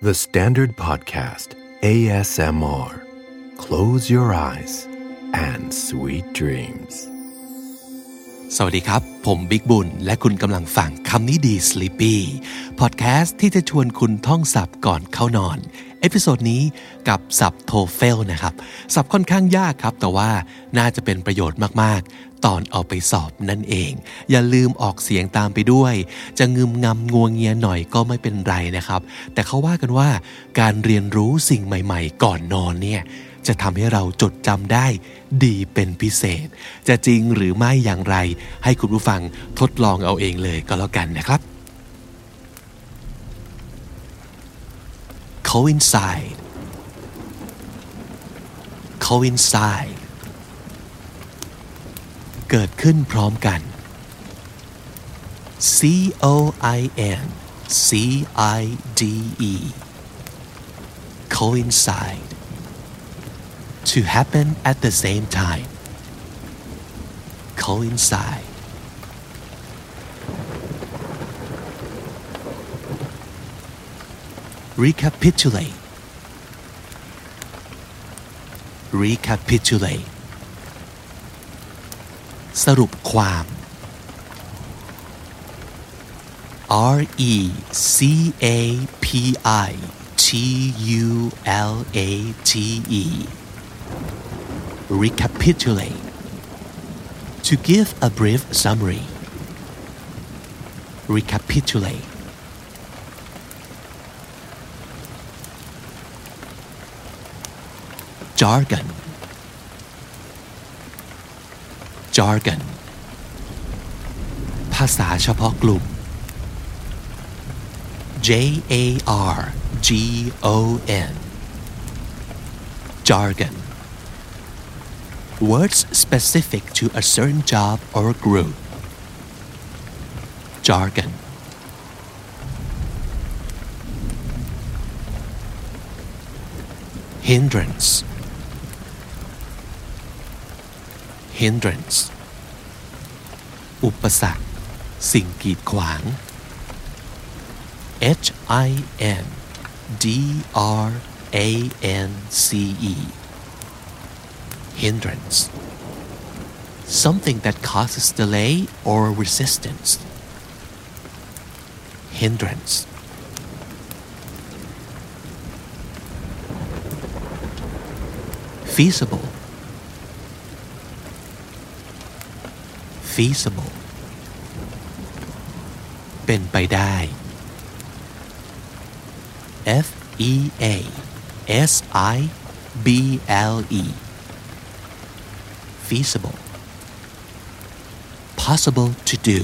The Standard Podcast ASMR Close your eyes and sweet dreams สวัสดีครับผมบิ๊กบุญและคุณกำลังฟังคำนี้ดี Sleepy พอดแคสต์ที่จะชวนคุณท่องศัพท์ก่อนเข้านอนเอพิโซดนี้กับศัพท์ TOEFL นะครับศัพท์ค่อนข้างยากครับแต่ว่าน่าจะเป็นประโยชน์มากๆตอนเอาไปสอบนั่นเองอย่าลืมออกเสียงตามไปด้วยจะงึมงำงัวเงียหน่อยก็ไม่เป็นไรนะครับแต่เขาว่ากันว่าการเรียนรู้สิ่งใหม่ๆก่อนนอนเนี่ยจะทำให้เราจดจำได้ดีเป็นพิเศษจะจริงหรือไม่อย่างไรให้คุณผู้ฟังทดลองเอาเองเลยก็แล้วกันนะครับ coincide coincide เกิดขึ้นพร้อมกัน coincide coincide to happen at the same time coincide recapitulate recapitulate สรุปความ recapitulate recapitulate to give a brief summary recapitulate jargon jargon ภาษาเฉพาะกลุ่ม jargon jargon words specific to a certain job or group jargon hindrance hindrance อุปสรรคสิ่งกีดขวาง hindrance hindrance something that causes delay or resistance hindrance feasible feasible เป็นไปได้ feasible feasible possible to do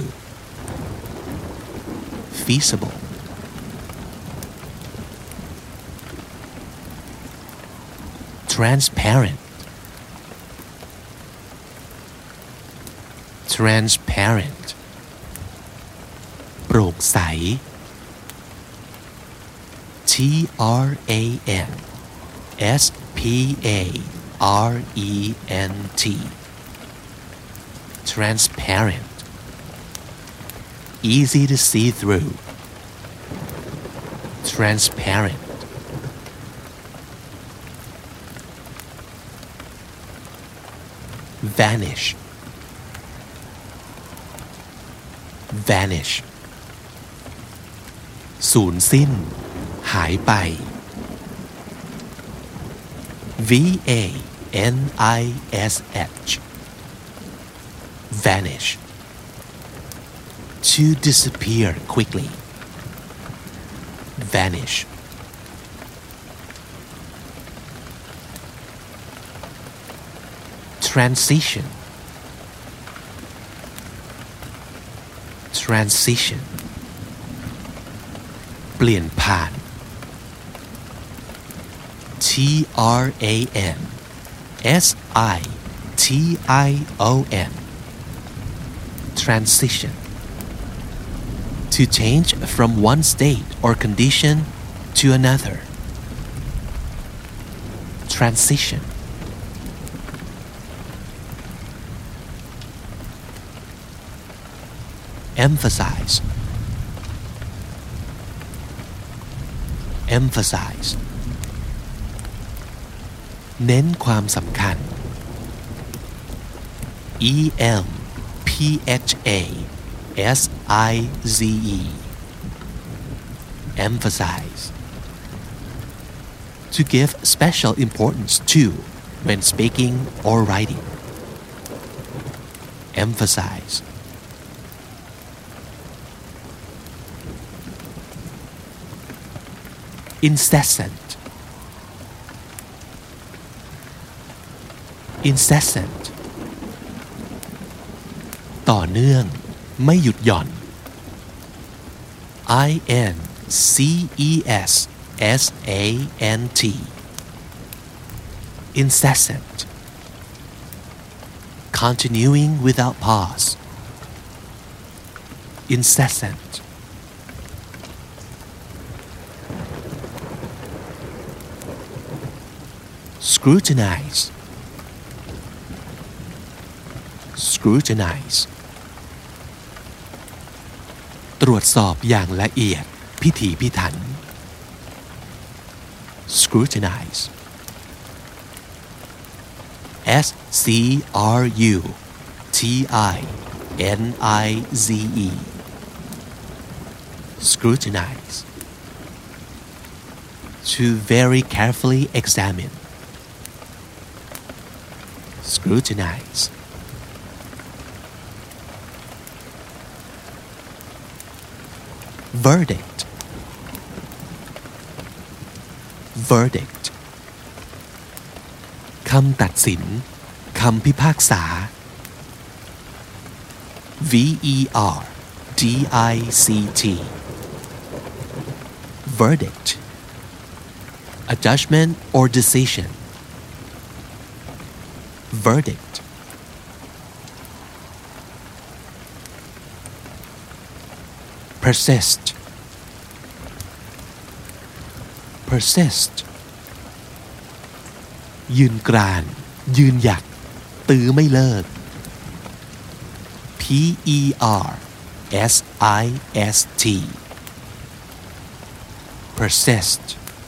feasible transparent transparent โปร่งใส transparent transparent easy to see through transparent vanish vanish สูญสิ้นหายไป vanish vanish to disappear quickly vanish transition transition เปลี่ยนผ่าน transition transition to change from one state or condition to another transition emphasize emphasize เน้นความสำคัญ emphasis emphasize to give special importance to when speaking or writing emphasize incessant incessant ต่อเนื่องไม่หยุดหย่อน incessant incessant continuing without pause incessant scrutinize scrutinize ตรวจสอบอย่างละเอียดพิถีพิถัน scrutinize scrutinize scrutinize to very carefully examine scrutinize verdict verdict คำตัดสินคำพิพากษา verdict verdict a judgment or decision verdict persist persist ยืนกรานยืนหยัดตื้อไม่เลิก persist persist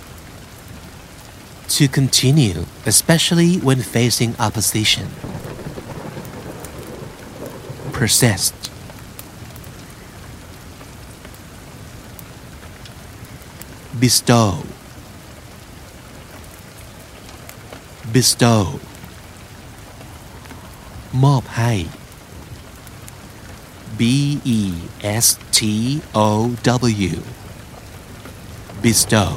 to continue especially when facing opposition persist bestow bestow มอบให้ bestow bestow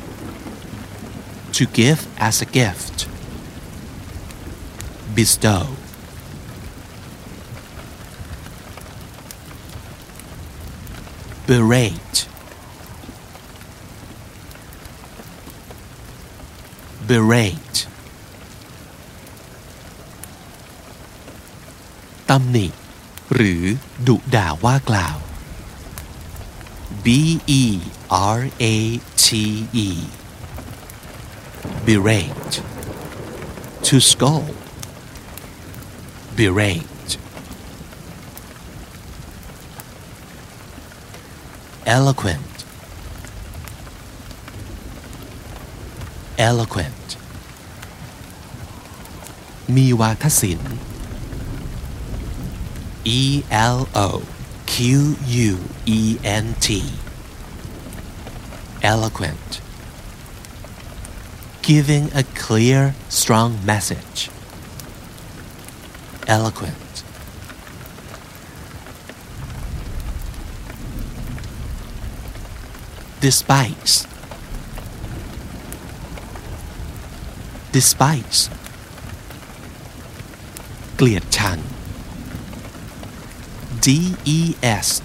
to give as a gift bestow berate berate ตำหนิหรือดุด่าว่ากล่าว berate berate to scold berate eloquent eloquent มีวาทศิลป์ eloquent eloquent giving a clear strong message eloquent despise despise เกลียดชังdespise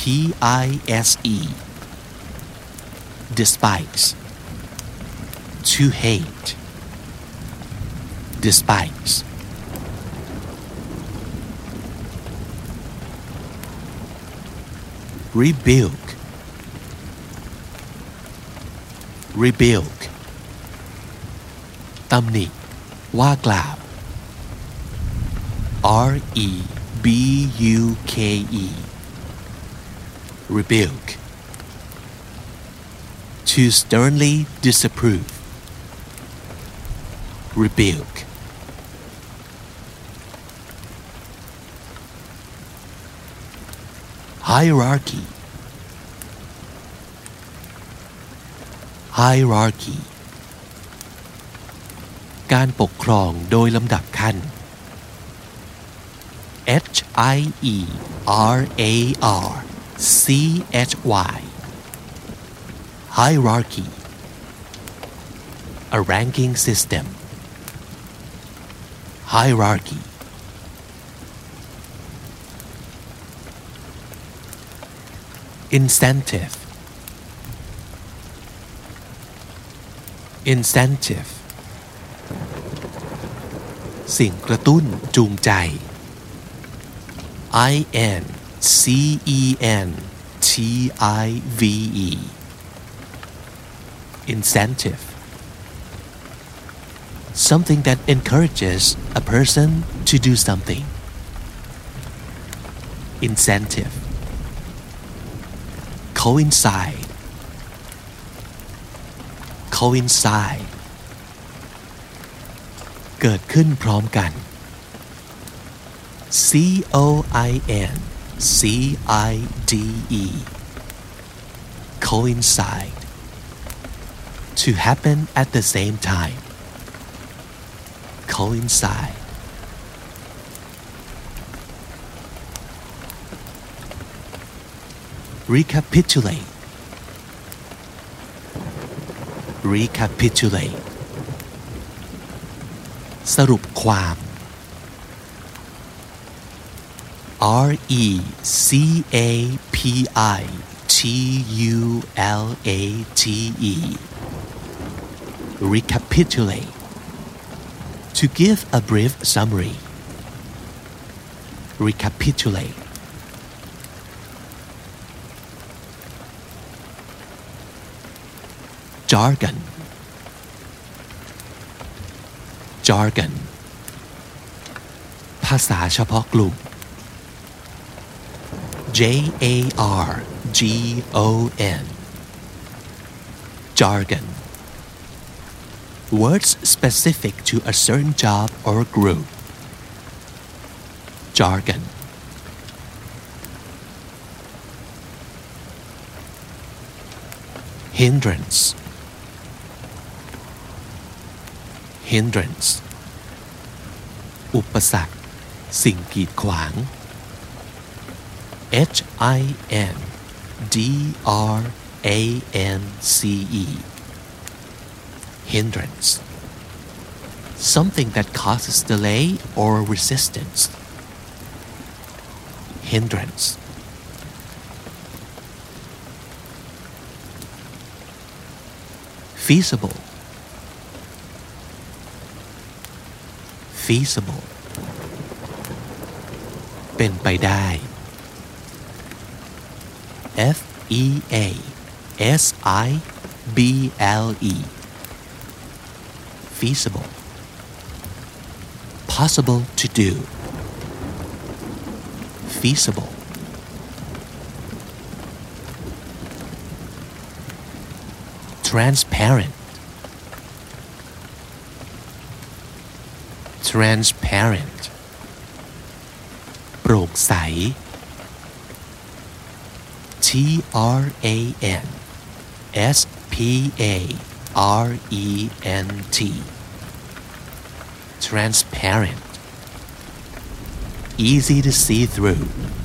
despise to hate despise rebuke rebuke ตำหนิว่ากล่าว rebuke to to sternly disapprove rebuke hierarchy hierarchy การปกครองโดยลำดับขั้น hierarchy hierarchy a ranking system hierarchy incentive incentive สิ่งกระตุ้นจูงใจ incentive incentive something that encourages a person to do something incentive coincide coincide เกิดขึ้นพร้อมกัน coincide coincide to happen at the same time coincide recapitulate recapitulate สรุปความ recapitulate recapitulate to give a brief summary recapitulate jargon jargon ภาษาเฉพาะกลุ่ม jargon jargon words specific to a certain job or group jargon hindrance hindrance อุปสรรคสิ่งกีดขวาง hindrance hindrance something that causes delay or resistance hindrance feasible feasible เป็นไปได้ feasible feasible possible to do feasible transparent transparent โปร่งใส transparent transparent easy to see through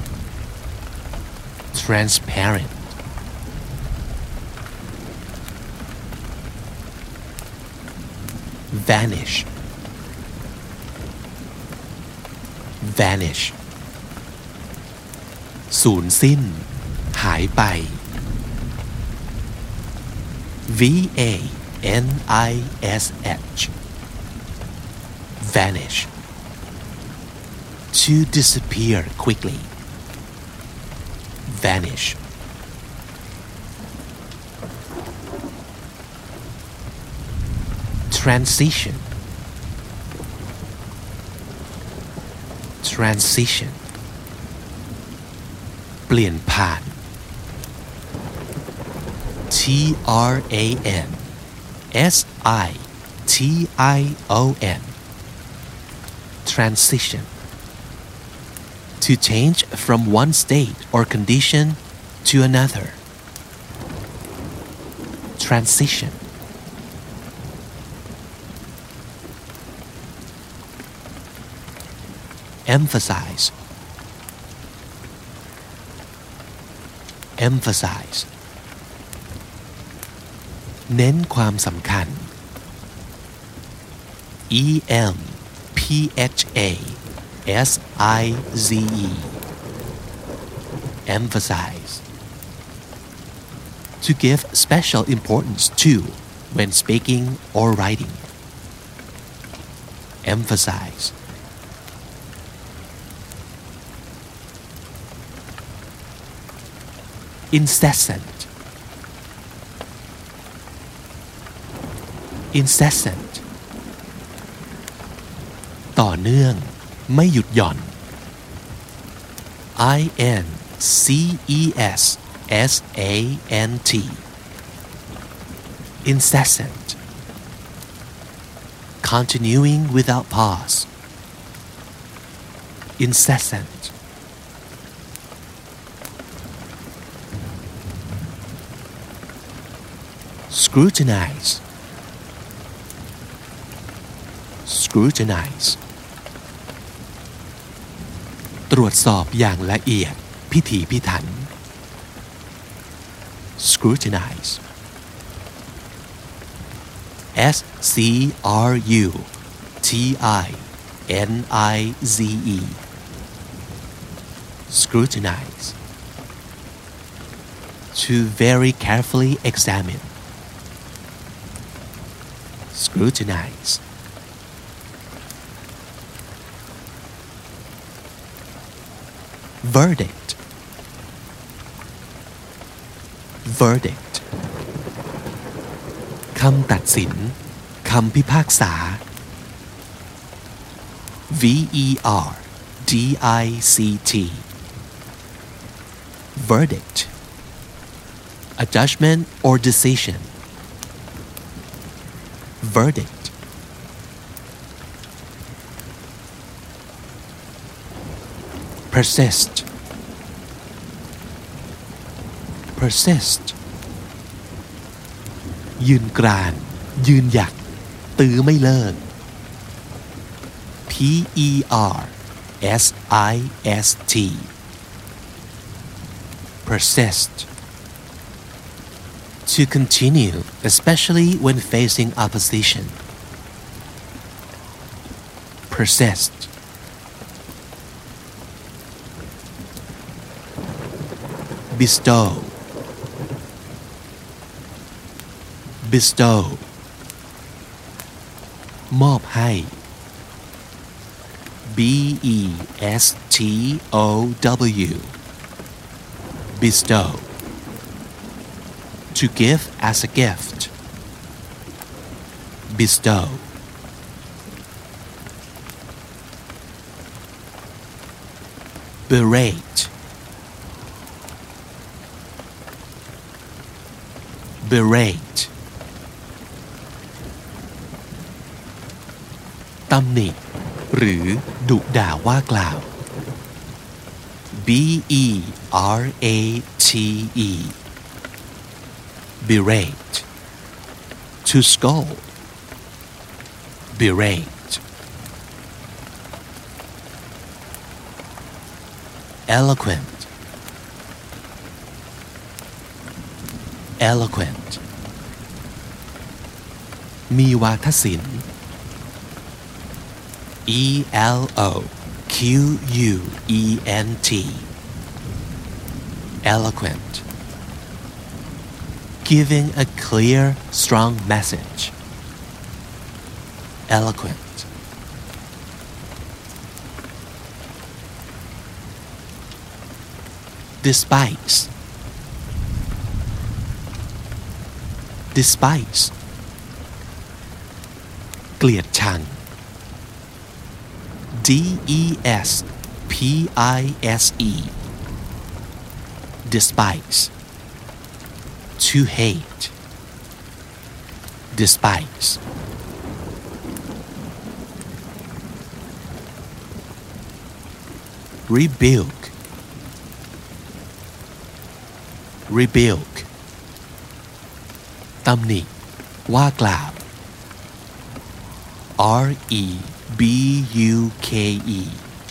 transparent vanish vanish สูญสิ้นหายไป vanish vanish to disappear quickly vanish transition transition เปลี่ยนผ่าน T Transition Transition To change from one state or condition to another Transition Emphasize Emphasize เน้นความสำคัญ Emphasize Emphasize To give special importance to when speaking or writing Emphasize Incessant Incessant ต่อเนื่องไม่หยุดหย่อน Incessant Incessant Continuing without pause Incessant Scrutinize Scrutinize ตรวจสอบอย่างละเอียดพิถีพิถัน Scrutinize Scrutinize Scrutinize To very carefully examine Scrutinize Verdict Verdict คำตัดสินคำพิพากษา Verdict Verdict A judgment or decision Verdict Persist Persist ยืนกรานยืนหยัดตื้อไม่เลิก Persist Persist To continue, especially when facing opposition. Persist. Bestow. Bestow. มอบให้ Bestow. Bestow. To give as a gift. Bestow. Berate. Berate. ตำหนิหรือดุด่าว่ากล่าว Berate. Berate. To scold. Berate. Eloquent. Eloquent. มีวาทศิลป์ Eloquent. Eloquent. Giving a clear, strong message. Eloquent. Despise. Despise. เกลียดชัง Despise. Despise. to hate despise rebuke rebuke ตำหนิว่ากล่าว rebuke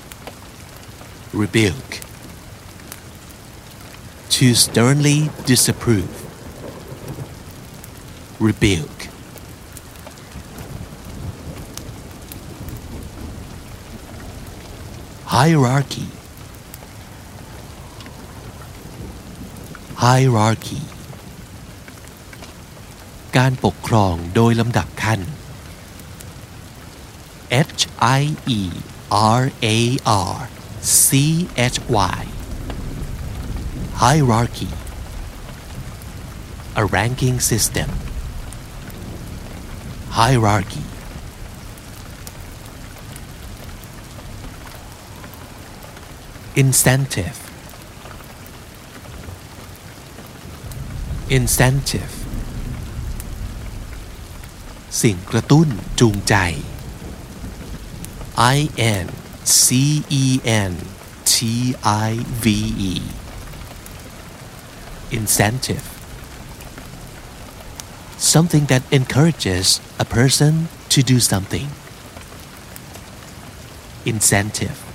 rebuke to sternly disapprove rebuke hierarchy hierarchy การปกครองโดยลำดับขั้น hierarchy hierarchy a ranking system hierarchy incentive incentive สิ่งกระตุ้นจูงใจ incentive incentive something that encourages a person to do something incentive